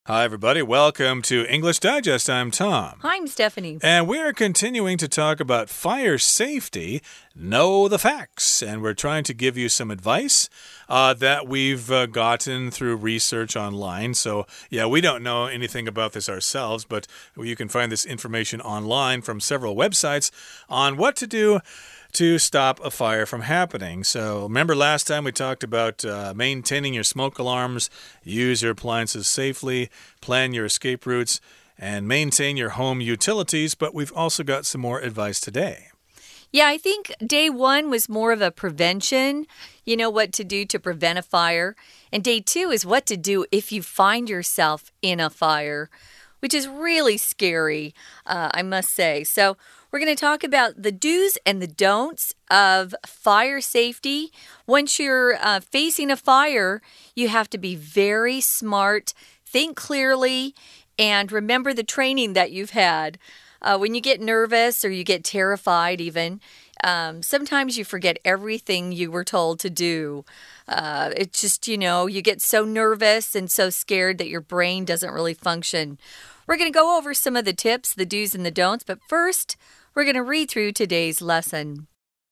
Hi, everybody. Welcome to English Digest. I'm Tom. Hi, I'm Stephanie. And we're continuing to talk about fire safety. Know the facts. And we're trying to give you some advice that we've gotten through research online. So, yeah, we don't know anything about this ourselves, but you can find this information online from several websites on what to do to stop a fire from happening. So remember last time we talked about maintaining your smoke alarms, use your appliances safely, plan your escape routes, and maintain your home utilities, but we've also got some more advice today. Yeah, I think day one was more of a prevention. You know what to do to prevent a fire. And day two is what to do if you find yourself in a fire, which is really scary, I must say. So we're going to talk about the do's and the don'ts of fire safety. Once you're facing a fire, you have to be very smart, think clearly, and remember the training that you've had. When you get nervous or you get terrified even, sometimes you forget everything you were told to do. It's just, you get so nervous and so scared that your brain doesn't really function. We're going to go over some of the tips, the do's and the don'ts, but first, we're going to read through today's lesson.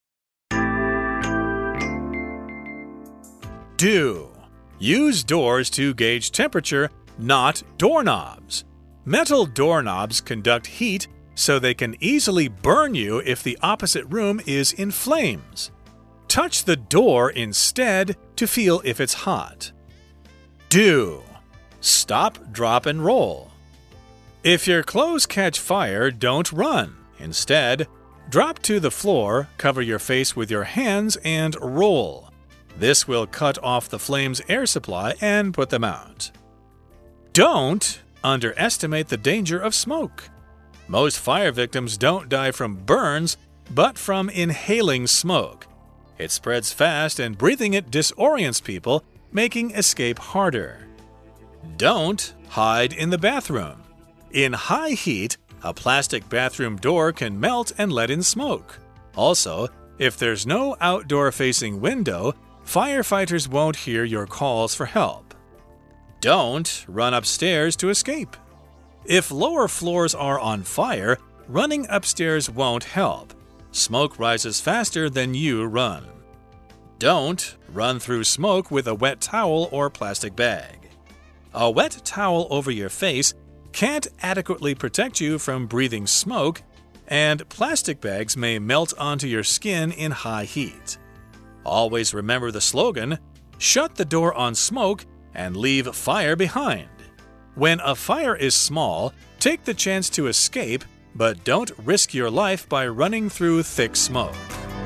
Do. Use doors to gauge temperature, not doorknobs. Metal doorknobs conduct heat so they can easily burn you if the opposite room is in flames. Touch the door instead to feel if it's hot. Do. Stop, drop, and roll. If your clothes catch fire, don't run. Instead, drop to the floor, cover your face with your hands, and roll. This will cut off the flame's air supply and put them out. Don't underestimate the danger of smoke. Most fire victims don't die from burns, but from inhaling smoke. It spreads fast and breathing it disorients people, making escape harder. Don't hide in the bathroom. In high heat, a plastic bathroom door can melt and let in smoke. Also, if there's no outdoor-facing window, firefighters won't hear your calls for help. Don't run upstairs to escape. If lower floors are on fire, running upstairs won't help. Smoke rises faster than you run. Don't run through smoke with a wet towel or plastic bag. A wet towel over your face can't adequately protect you from breathing smoke, and plastic bags may melt onto your skin in high heat. Always remember the slogan, shut the door on smoke and leave fire behind. When a fire is small, take the chance to escape, but don't risk your life by running through thick smoke.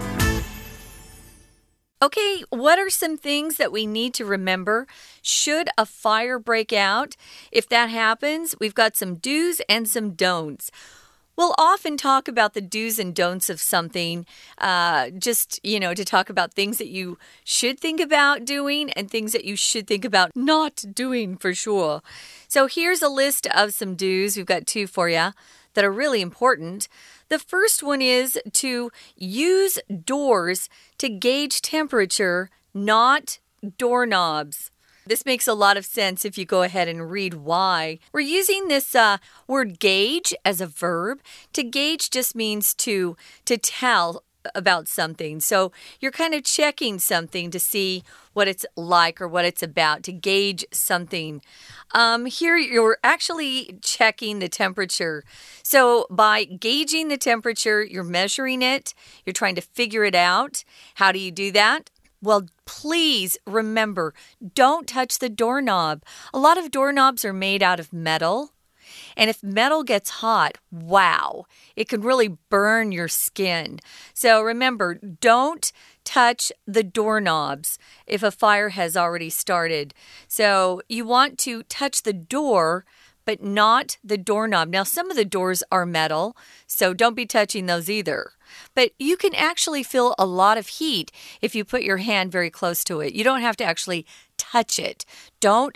Okay, what are some things that we need to remember should a fire break out? If that happens, we've got some do's and some don'ts. We'll often talk about the do's and don'ts of something, to talk about things that you should think about doing and things that you should think about not doing for sure. So here's a list of some do's. We've got two for you that are really important. The first one is to use doors to gauge temperature, not doorknobs. This makes a lot of sense if you go ahead and read why. We're using this word gauge as a verb. To gauge just means to tell about something. So you're kind of checking something to see what it's like or what it's about, to gauge something. Here you're actually checking the temperature. So by gauging the temperature, you're measuring it. You're trying to figure it out. How do you do that? Well, please remember, don't touch the doorknob. A lot of doorknobs are made out of metal. And if metal gets hot, wow, it can really burn your skin. So remember, don't touch the doorknobs if a fire has already started. So you want to touch the door, but not the doorknob. Now, some of the doors are metal, so don't be touching those either. But you can actually feel a lot of heat if you put your hand very close to it. You don't have to actually touch it. Don't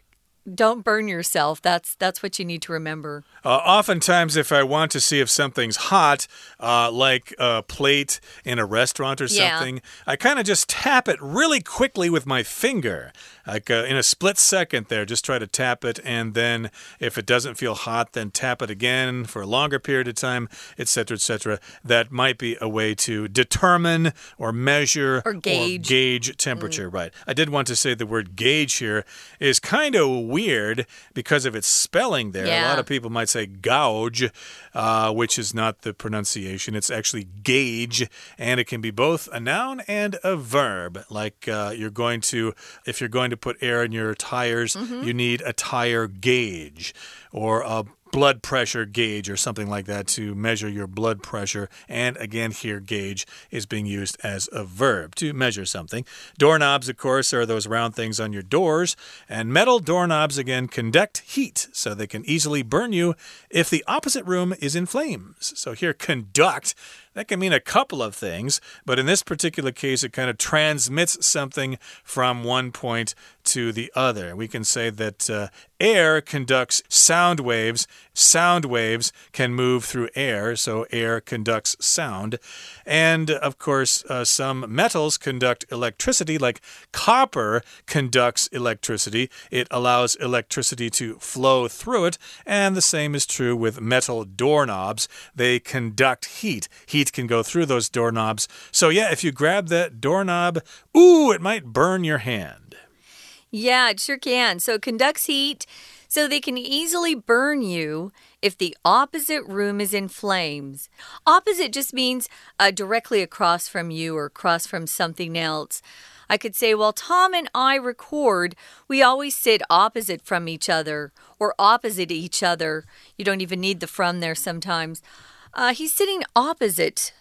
don't burn yourself. That's what you need to remember. Oftentimes, if I want to see if something's hot, like a plate in a restaurant or something, I kind of just tap it really quickly with my finger. Like in a split second there, just try to tap it, and then if it doesn't feel hot, then tap it again for a longer period of time, etc., etc. That might be a way to determine or measure or gauge temperature. Right. I did want to say the word gauge here is kind of weird because of its spelling there. A lot of people might say gouge, which is not the pronunciation. It's actually gauge, and it can be both a noun and a verb. Like if you're going to put air in your tires, you need a tire gauge or a blood pressure gauge or something like that to measure your blood pressure. And again, here, gauge is being used as a verb to measure something. Doorknobs, of course, are those round things on your doors. And metal doorknobs, again, conduct heat, so they can easily burn you if the opposite room is in flames. So here, conduct. That can mean a couple of things, but in this particular case, it kind of transmits something from one point to the other. We can say that air conducts sound waves. Sound waves can move through air, so air conducts sound. And, of course, some metals conduct electricity, like copper conducts electricity. It allows electricity to flow through it, and the same is true with metal doorknobs. They conduct heat. Heat can go through those doorknobs. So, yeah, if you grab that doorknob, ooh, it might burn your hand. Yeah, it sure can. So it conducts heat, so they can easily burn you if the opposite room is in flames. Opposite just means directly across from you or across from something else. I could say, well, Tom and I record, we always sit opposite from each other or opposite each other. You don't even need the from there sometimes. He's sitting opposite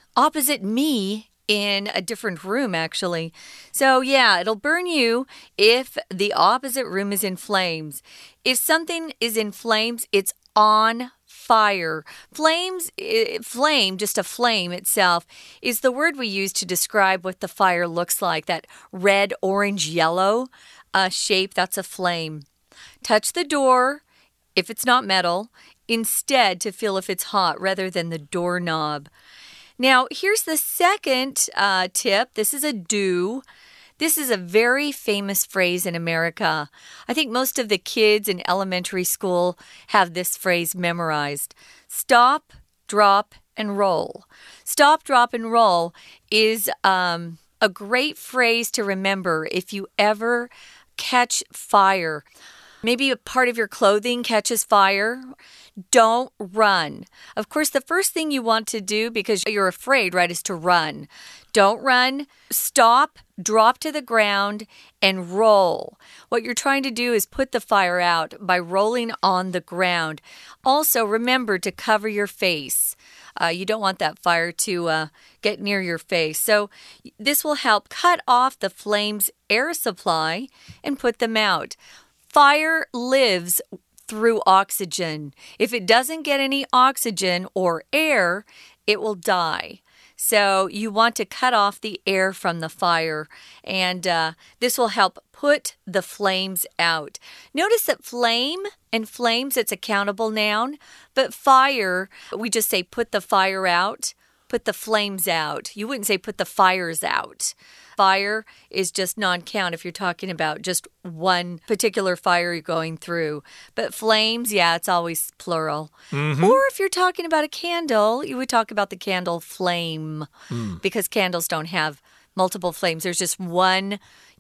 me in a different room, actually. So, yeah, it'll burn you if the opposite room is in flames. If something is in flames, it's on fire. Flame, just a flame itself, is the word we use to describe what the fire looks like. That red, orange, yellow shape, that's a flame. Touch the door if it's not metal, instead to feel if it's hot rather than the doorknob. Now, here's the second tip. This is a do. This is a very famous phrase in America. I think most of the kids in elementary school have this phrase memorized. Stop, drop, and roll. Stop, drop, and roll is a great phrase to remember if you ever catch fire. Maybe a part of your clothing catches fire. Don't run. Of course, the first thing you want to do, because you're afraid, right, is to run. Don't run. Stop, drop to the ground, and roll. What you're trying to do is put the fire out by rolling on the ground. Also, remember to cover your face. You don't want that fire to get near your face. So this will help cut off the flame's air supply and put them out. Fire lives through oxygen. If it doesn't get any oxygen or air, it will die. So you want to cut off the air from the fire, and this will help put the flames out. Notice that flame and flames, it's a countable noun, but fire, we just say put the fire out, put the flames out. You wouldn't say put the fires out. Fire is just non-count if you're talking about just one particular fire you're going through. But flames, yeah, it's always plural. Or if you're talking about a candle, you would talk about the candle flame because candles don't have multiple flames. There's just one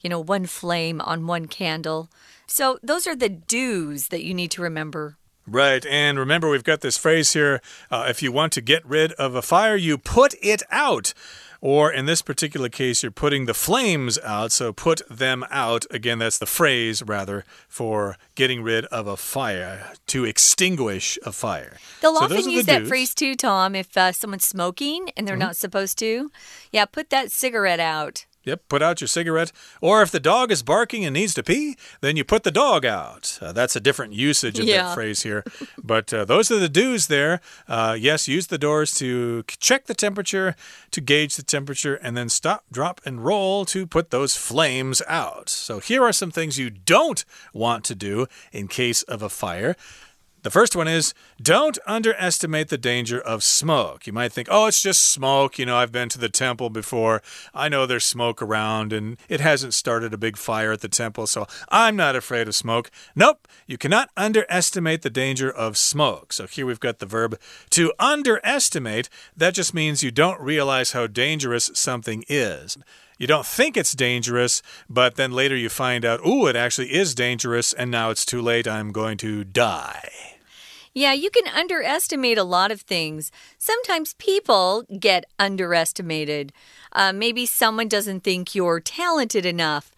flame on one candle. So those are the do's that you need to remember. Right, and remember we've got this phrase here, if you want to get rid of a fire, you put it out. Or in this particular case, you're putting the flames out, so put them out. Again, that's the phrase, rather, for getting rid of a fire, to extinguish a fire. They'll often use that phrase too, Tom, if someone's smoking and they're not supposed to. Yeah, put that cigarette out. Yep, put out your cigarette. Or if the dog is barking and needs to pee, then you put the dog out. That's a different usage of that phrase here. But those are the do's there. Yes, use the doors to check the temperature, to gauge the temperature, and then stop, drop, and roll to put those flames out. So here are some things you don't want to do in case of a fire. The first one is, don't underestimate the danger of smoke. You might think, oh, it's just smoke. You know, I've been to the temple before. I know there's smoke around, and it hasn't started a big fire at the temple, so I'm not afraid of smoke. Nope, you cannot underestimate the danger of smoke. So here we've got the verb to underestimate. That just means you don't realize how dangerous something is. You don't think it's dangerous, but then later you find out, ooh, it actually is dangerous, and now it's too late. I'm going to die. Yeah, you can underestimate a lot of things. Sometimes people get underestimated. Maybe someone doesn't think you're talented enough.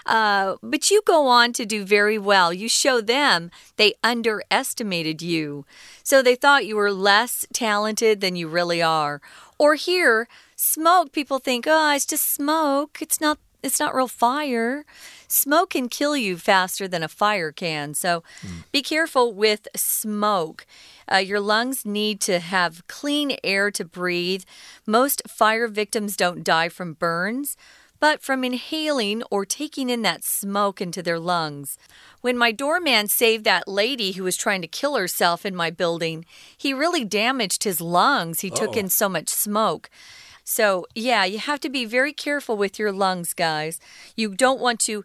But you go on to do very well. You show them they underestimated you. So they thought you were less talented than you really are. Or here, smoke, people think, oh, it's just smoke. It's not real fire. Smoke can kill you faster than a fire can. So be careful with smoke. Your lungs need to have clean air to breathe. Most fire victims don't die from burns, but from inhaling or taking in that smoke into their lungs. When my doorman saved that lady who was trying to kill herself in my building, he really damaged his lungs. He took in so much smoke. So, yeah, you have to be very careful with your lungs, guys. You don't want to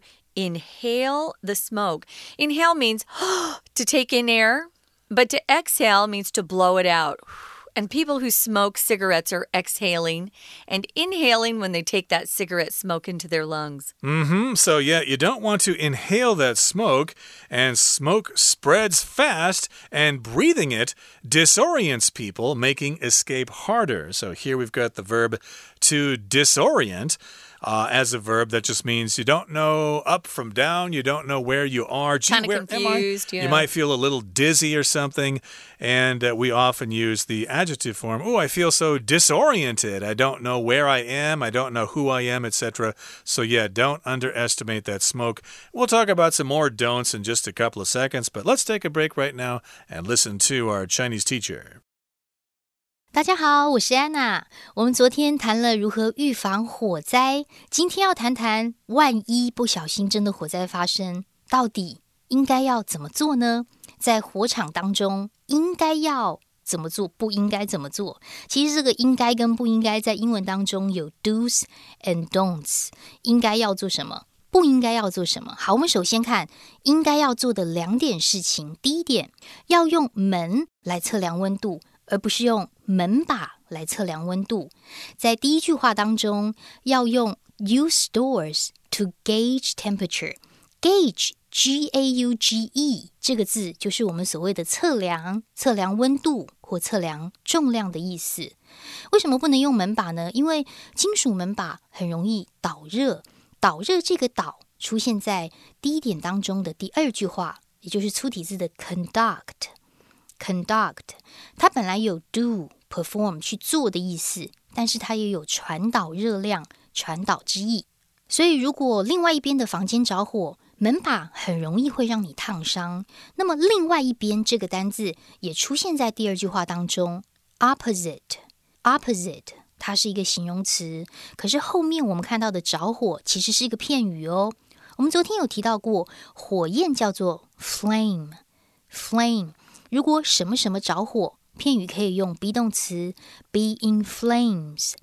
inhale the smoke. Inhale means to take in air, but to exhale means to blow it out. And people who smoke cigarettes are exhaling and inhaling when they take that cigarette smoke into their lungs. So, yeah, you don't want to inhale that smoke, and smoke spreads fast, and breathing it disorients people, making escape harder. So here we've got the verb to disorient. As a verb, that just means you don't know up from down. You don't know where you are. Gee, kind of confused. You might feel a little dizzy or something. And we often use the adjective form. Oh, I feel so disoriented. I don't know where I am. I don't know who I am, etc. So, yeah, don't underestimate that smoke. We'll talk about some more don'ts in just a couple of seconds. But let's take a break right now and listen to our Chinese teacher. 大家好，我是安娜。我们昨天谈了如何預防火災，今天要談談萬一不小心真的火災發生，到底應該要怎麼做呢？在火場當中，應該要怎麼做，不應該怎麼做？其實這個應該跟不應該在英文當中有 do's and don'ts， 應該要做什麼，不應該要做什麼。好，我們首先看應該要做的兩點事情。第一點，要用門來測量溫度，而不是用門把來測量溫度。在第一句話當中，要用 use doors to gauge temperature. Gauge, G-A-U-G-E 這個字就是我們所謂的測量溫度或測量重量的意思。為什麼不能用門把呢？因為金屬門把很容易導熱。導熱這個導出現在第一點當中的第二句話，也就是粗體字的 conduct。它本來有 do, perform 去做的意思，但是它也有傳導熱量、傳導之意。所以如果另外一邊的房間着火，門把很容易會讓你燙傷。那麼另外一邊這個單字也出現在第二句話當中 opposite 它是一個形容詞，可是後面我們看到的着火其實是一個片語哦。我們昨天有提到過，火焰叫做 flame。如果什麼什麼着火，片語可以用 be 動詞 be in flames。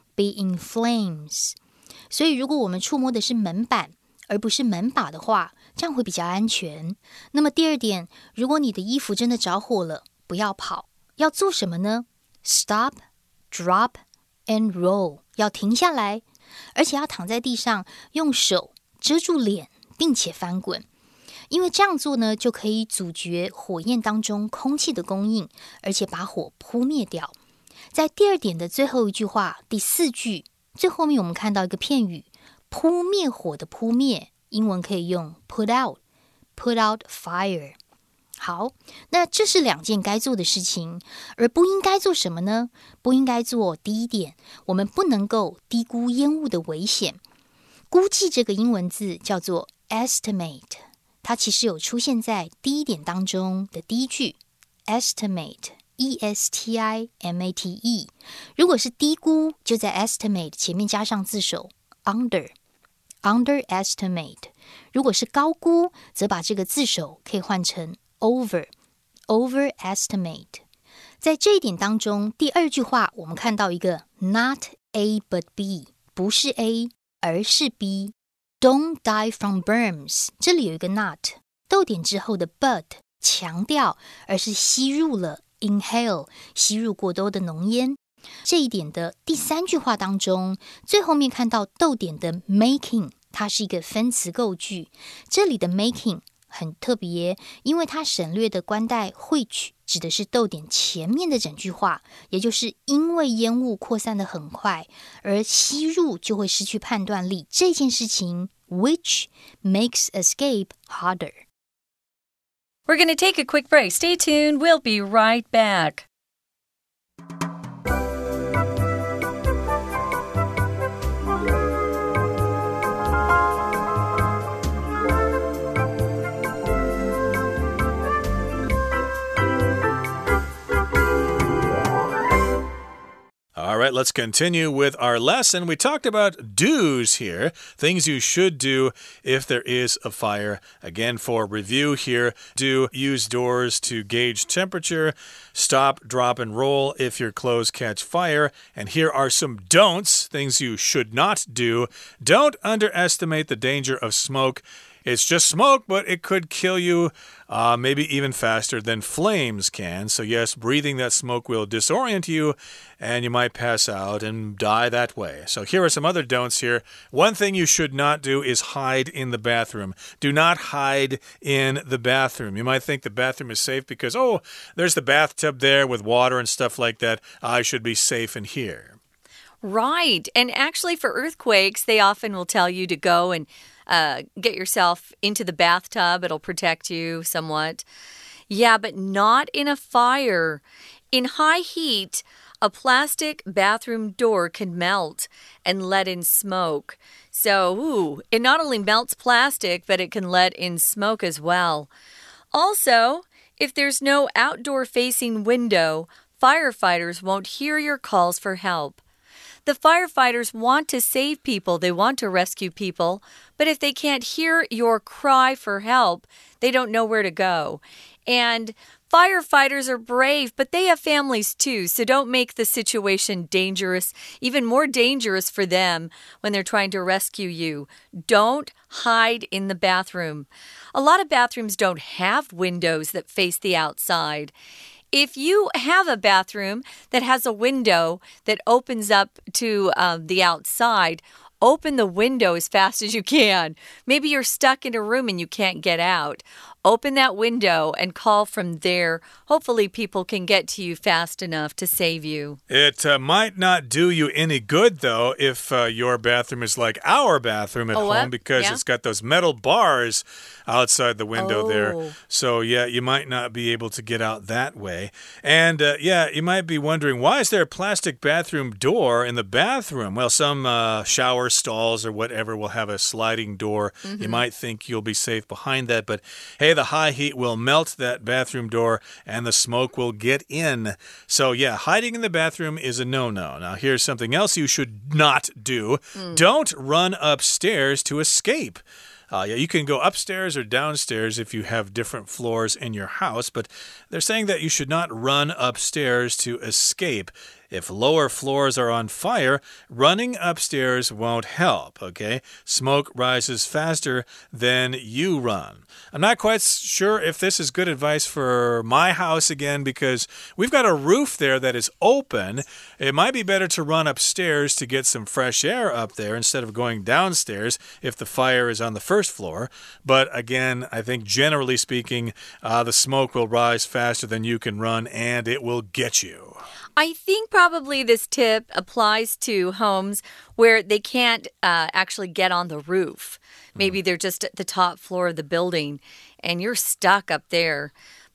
所以如果我們觸摸的是門板，而不是門把的話，這樣會比較安全。那麼第二點，如果你的衣服真的着火了，不要跑，要做什麼呢？ Stop, drop and roll， 要停下來，而且要躺在地上，用手遮住臉，並且翻滾。因為這樣做呢，就可以阻絕火焰當中空氣的供應，而且把火撲滅掉。在第二點的最後一句話，第四句最後面我們看到一個片語，撲滅火的撲滅，英文可以用 put out fire。好，那這是兩件該做的事情，而不應該做什麼呢？不應該做第一點，我們不能夠低估煙霧的危險。 估計這個英文字叫做 estimate， 它其實有出現在第一點當中的第一句 estimate E-S-T-I-M-A-T-E， 如果是低估，就在 estimate 前面加上字首 underestimate， 如果是高估，則把這個字首可以換成 overestimate。 在這一點當中，第二句話我們看到一個 not A but B， 不是 A 而是 B， Don't die from burns， 這裡有一個 not， 逗點之後的 but 強調，而是吸入了inhale， 吸入過多的濃煙。這一點的第三句話當中，最後面看到逗點的 making， 它是一個分詞構句。這裡的 making 很特別，因為它省略的冠帶 which 指的是逗點前面的整句話，也就是因為煙霧擴散得很快，而吸入就會失去判斷力。這件事情 which makes escape harder。We're going to take a quick break. Stay tuned. We'll be right back. All right, let's continue with our lesson. We talked about do's here, things you should do if there is a fire. Again, for review here, do use doors to gauge temperature, stop, drop, and roll if your clothes catch fire. And here are some don'ts, things you should not do. Don't underestimate the danger of smoke. It's just smoke, but it could kill you maybe even faster than flames can. So yes, breathing that smoke will disorient you and you might pass out and die that way. So here are some other don'ts here. One thing you should not do is hide in the bathroom. Do not hide in the bathroom. You might think the bathroom is safe because, oh, there's the bathtub there with water and stuff like that. I should be safe in here. Right. And actually for earthquakes, they often will tell you to go and get yourself into the bathtub. It'll protect you somewhat. Yeah, but not in a fire. In high heat, a plastic bathroom door can melt and let in smoke. So, it not only melts plastic, but it can let in smoke as well. Also, if there's no outdoor-facing window, firefighters won't hear your calls for help.The firefighters want to save people. They want to rescue people. But if they can't hear your cry for help, they don't know where to go. And firefighters are brave, but they have families too. So don't make the situation dangerous, even more dangerous for them when they're trying to rescue you. Don't hide in the bathroom. A lot of bathrooms don't have windows that face the outside.If you have a bathroom that has a window that opens up to the outside, open the window as fast as you can. Maybe you're stuck in a room and you can't get out. Open that window and call from there. Hopefully people can get to you fast enough to save you. It might not do you any good, though, if your bathroom is like our bathroom at home because it's got those metal bars outside the window there. So, yeah, you might not be able to get out that way. And, you might be wondering, why is there a plastic bathroom door in the bathroom? Well, some shower stalls or whatever will have a sliding door. You might think you'll be safe behind that, but hey, the high heat will melt that bathroom door and the smoke will get in. So, yeah, hiding in the bathroom is a no-no. Now, here's something else you should not do. Don't run upstairs to escape.Yeah, you can go upstairs or downstairs if you have different floors in your house, but they're saying that you should not run upstairs to escape. If lower floors are on fire, running upstairs won't help, okay? Smoke rises faster than you run. I'm not quite sure if this is good advice for my house again because we've got a roof there that is open. It might be better to run upstairs to get some fresh air up there instead of going downstairs if the fire is on the first floor. But again, I think generally speaking, the smoke will rise faster than you can run and it will get you.I think probably this tip applies to homes where they can't actually get on the roof. Maybe they're just at the top floor of the building and you're stuck up there.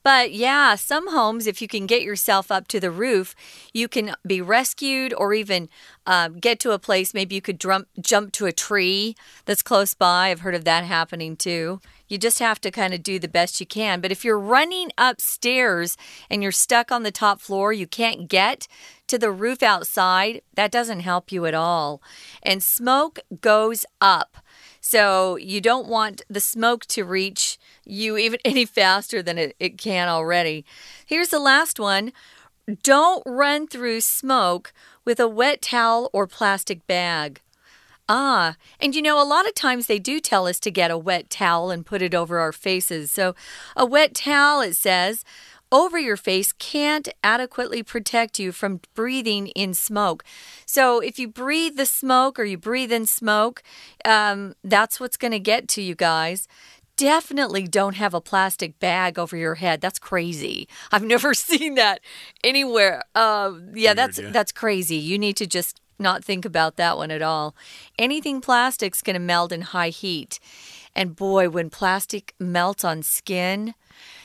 But yeah, some homes, if you can get yourself up to the roof, you can be rescued or even get to a place. Maybe you could jump to a tree that's close by. I've heard of that happening too. You just have to kind of do the best you can. But if you're running upstairs and you're stuck on the top floor, you can't get to the roof outside, that doesn't help you at all. And smoke goes up. So you don't want the smoke to reach you even any faster than it can already. Here's the last one. Don't run through smoke with a wet towel or plastic bag. And a lot of times they do tell us to get a wet towel and put it over our faces. So a wet towel, it says, over your face can't adequately protect you from breathing in smoke. So if you breathe the smoke or you breathe in smoke, that's what's going to get to you guys. Definitely don't have a plastic bag over your head. That's crazy. I've never seen that anywhere. That's crazy. You need to just not think about that one at all. Anything plastic's going to melt in high heat. And boy, when plastic melts on skin,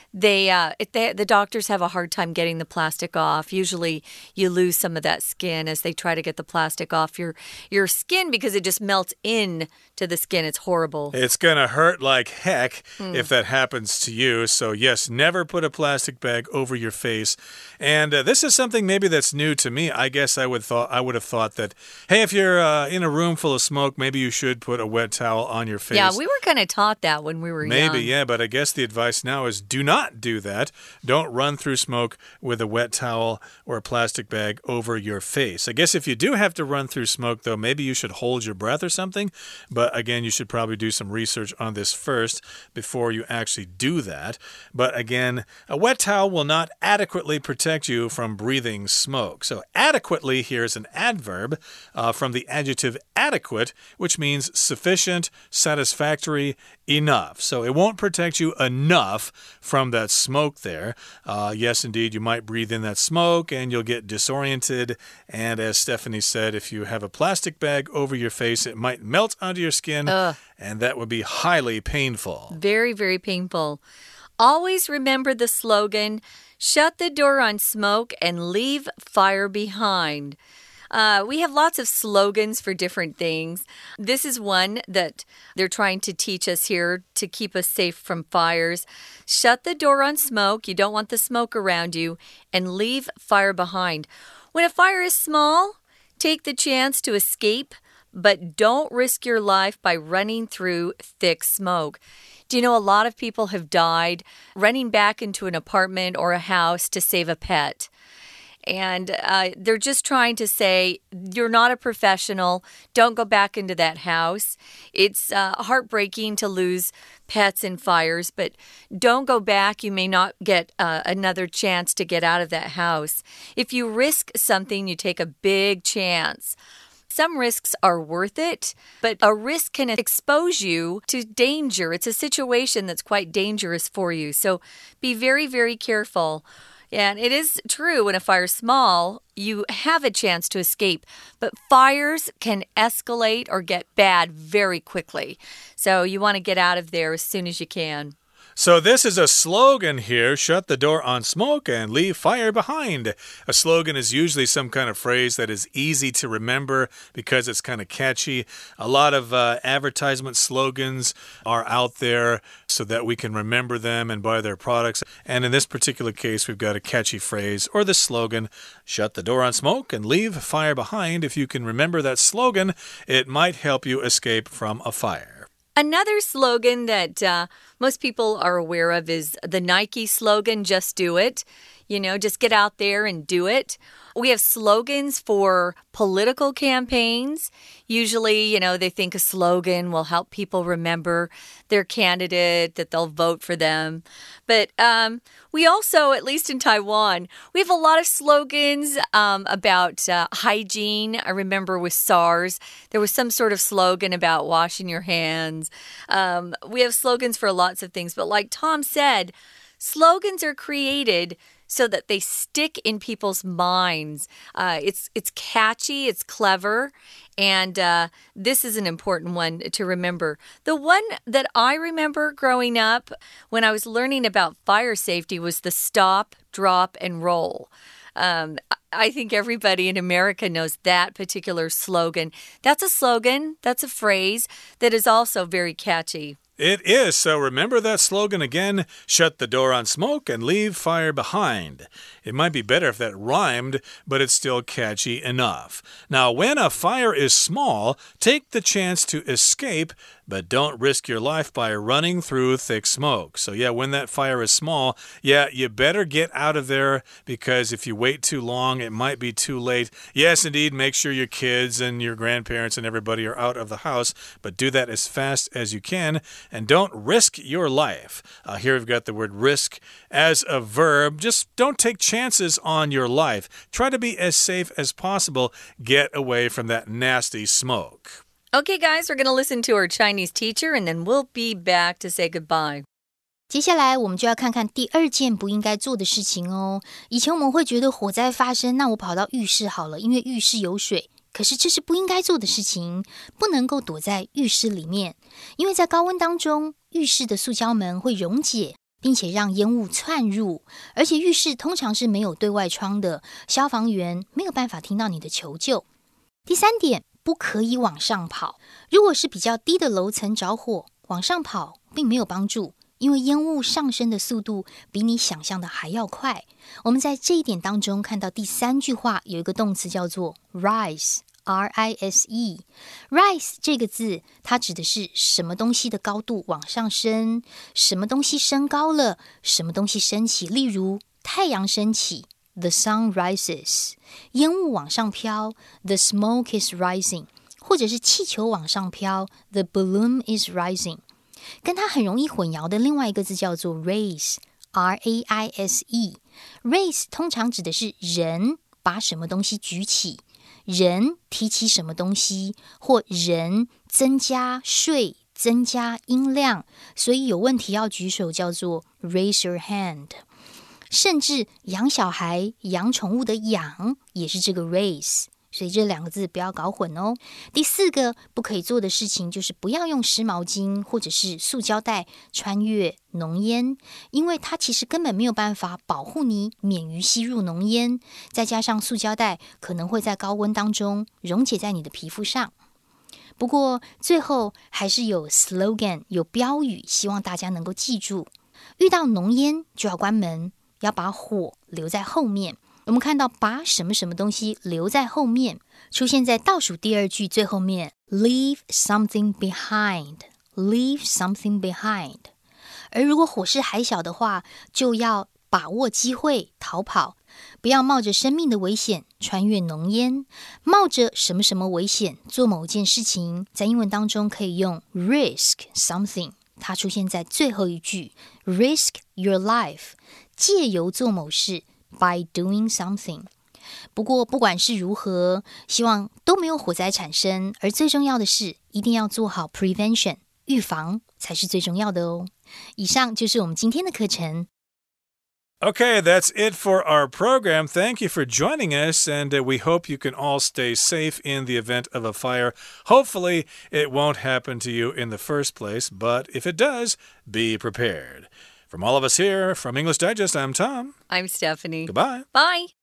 the doctors have a hard time getting the plastic off. Usually you lose some of that skin as they try to get the plastic off your skin because it just melts in to the skin. It's horrible. It's going to hurt like heck if that happens to you. So yes, never put a plastic bag over your face. And this is something maybe that's new to me. I guess I would have thought that, hey, if you're in a room full of smoke, maybe you should put a wet towel on your face. Yeah, we were kind of taught that when we were young. Maybe, yeah, but I guess the advice now is do not do that. Don't run through smoke with a wet towel or a plastic bag over your face. I guess if you do have to run through smoke, though, maybe you should hold your breath or something. But again, you should probably do some research on this first before you actually do that. But again, a wet towel will not adequately protect you from breathing smoke. So adequately here is an adverb from the adjective adequate, which means sufficient, satisfactory, enough. So it won't protect you enough from that smoke there. Yes, indeed, you might breathe in that smoke and you'll get disoriented. And as Stephanie said, if you have a plastic bag over your face, it might melt onto your skin, and that would be highly painful. Very, very painful. Always remember the slogan, shut the door on smoke and leave fire behind. We have lots of slogans for different things. This is one that they're trying to teach us here to keep us safe from fires. Shut the door on smoke. You don't want the smoke around you. And leave fire behind. When a fire is small, take the chance to escape, but don't risk your life by running through thick smoke. Do you know a lot of people have died running back into an apartment or a house to save a pet? And they're just trying to say, you're not a professional. Don't go back into that house. It's heartbreaking to lose pets in fires, but don't go back. You may not get another chance to get out of that house. If you risk something, you take a big chance. Some risks are worth it, but a risk can expose you to danger. It's a situation that's quite dangerous for you. So be very, very careful. And it is true when a fire's small, you have a chance to escape. But fires can escalate or get bad very quickly. So you want to get out of there as soon as you can. So this is a slogan here, shut the door on smoke and leave fire behind. A slogan is usually some kind of phrase that is easy to remember because it's kind of catchy. A lot of advertisement slogans are out there so that we can remember them and buy their products. And in this particular case, we've got a catchy phrase or the slogan, shut the door on smoke and leave fire behind. If you can remember that slogan, it might help you escape from a fire. Another slogan that most people are aware of is the Nike slogan, just do it. You know, just get out there and do it. We have slogans for political campaigns. Usually, they think a slogan will help people remember their candidate, that they'll vote for them. But we also, at least in Taiwan, we have a lot of slogans about hygiene. I remember with SARS, there was some sort of slogan about washing your hands. We have slogans for lots of things. But like Tom said, slogans are created so that they stick in people's minds. It's catchy, it's clever, and this is an important one to remember. The one that I remember growing up when I was learning about fire safety was the stop, drop, and roll. I think everybody in America knows that particular slogan. That's a slogan, that's a phrase that is also very catchy. It is, so remember that slogan again. Shut the door on smoke and leave fire behind. It might be better if that rhymed, but it's still catchy enough. Now, when a fire is small, take the chance to escape, but don't risk your life by running through thick smoke. So yeah, when that fire is small, yeah, you better get out of there, because if you wait too long, it might be too late. Yes, indeed, make sure your kids and your grandparents and everybody are out of the house, but do that as fast as you can. And don't risk your life. Here we've got the word risk as a verb. Just don't take chances on your life. Try to be as safe as possible. Get away from that nasty smoke. Okay, guys, we're going to listen to our Chinese teacher, and then we'll be back to say goodbye. 接下来我们就要看看第2件不应该做的事情哦。以前我们会觉得火灾发生，那我跑到浴室好了，因為浴室有水。可是這是不應該做的事情，不能夠躲在浴室裡面，因為在高溫當中，浴室的塑膠門會溶解，並且讓煙霧竄入，而且浴室通常是沒有對外窗的，消防員沒有辦法聽到你的求救。第3點，不可以往上跑。如果是比較低的樓層着火，往上跑並沒有幫助，因為煙霧上升的速度比你想象的還要快。我們在這一點當中看到第3句話有一個動詞叫做 rise。Rise 這個字，它指的是什麼東西的高度往上升，什麼東西升高了，什麼東西升起。例如太陽升起 ，the sun rises； 煙霧往上飄 ，the smoke is rising； 或者是氣球往上飄 ，the balloon is rising。跟它很容易混淆的另外一個字叫做 raise。R-A-I-S-E。raise 通常指的是人把什麼東西舉起。人提起什麼東西，或人增加稅、增加音量，所以有問題要舉手，叫做 raise your hand。甚至養小孩、養寵物的養也是這個 raise， 所以這2個字不要搞混哦。第4個不可以做的事情就是不要用濕毛巾或者是塑膠袋穿越濃煙，因為它其實根本沒有辦法保護你免於吸入濃煙，再加上塑膠袋可能會在高溫當中溶解在你的皮膚上。不過最後還是有 slogan 有標語，希望大家能夠記住，遇到濃煙就要關門，要把火留在後面。我們看到把什麼什麼東西留在後面，出現在倒數第2句最後面 leave something behind。 leave something behind。 而如果火勢還小的話，就要把握機會逃跑，不要冒着生命的危險穿越濃煙。冒着什麼什麼危險做某件事情，在英文當中可以用 risk something， 它出現在最後一句 risk your life， 借由做某事by doing something。 不過不管是如何，希望都沒有火災產生，而最重要的是一定要做好 prevention， 預防才是最重要的哦。以上就是我們今天的課程。 Okay, that's it for our program. Thank you for joining us, and we hope you can all stay safe in the event of a fire. Hopefully, it won't happen to you in the first place, but if it does, be prepared. From all of us here from English Digest, I'm Tom. I'm Stephanie. Goodbye. Bye.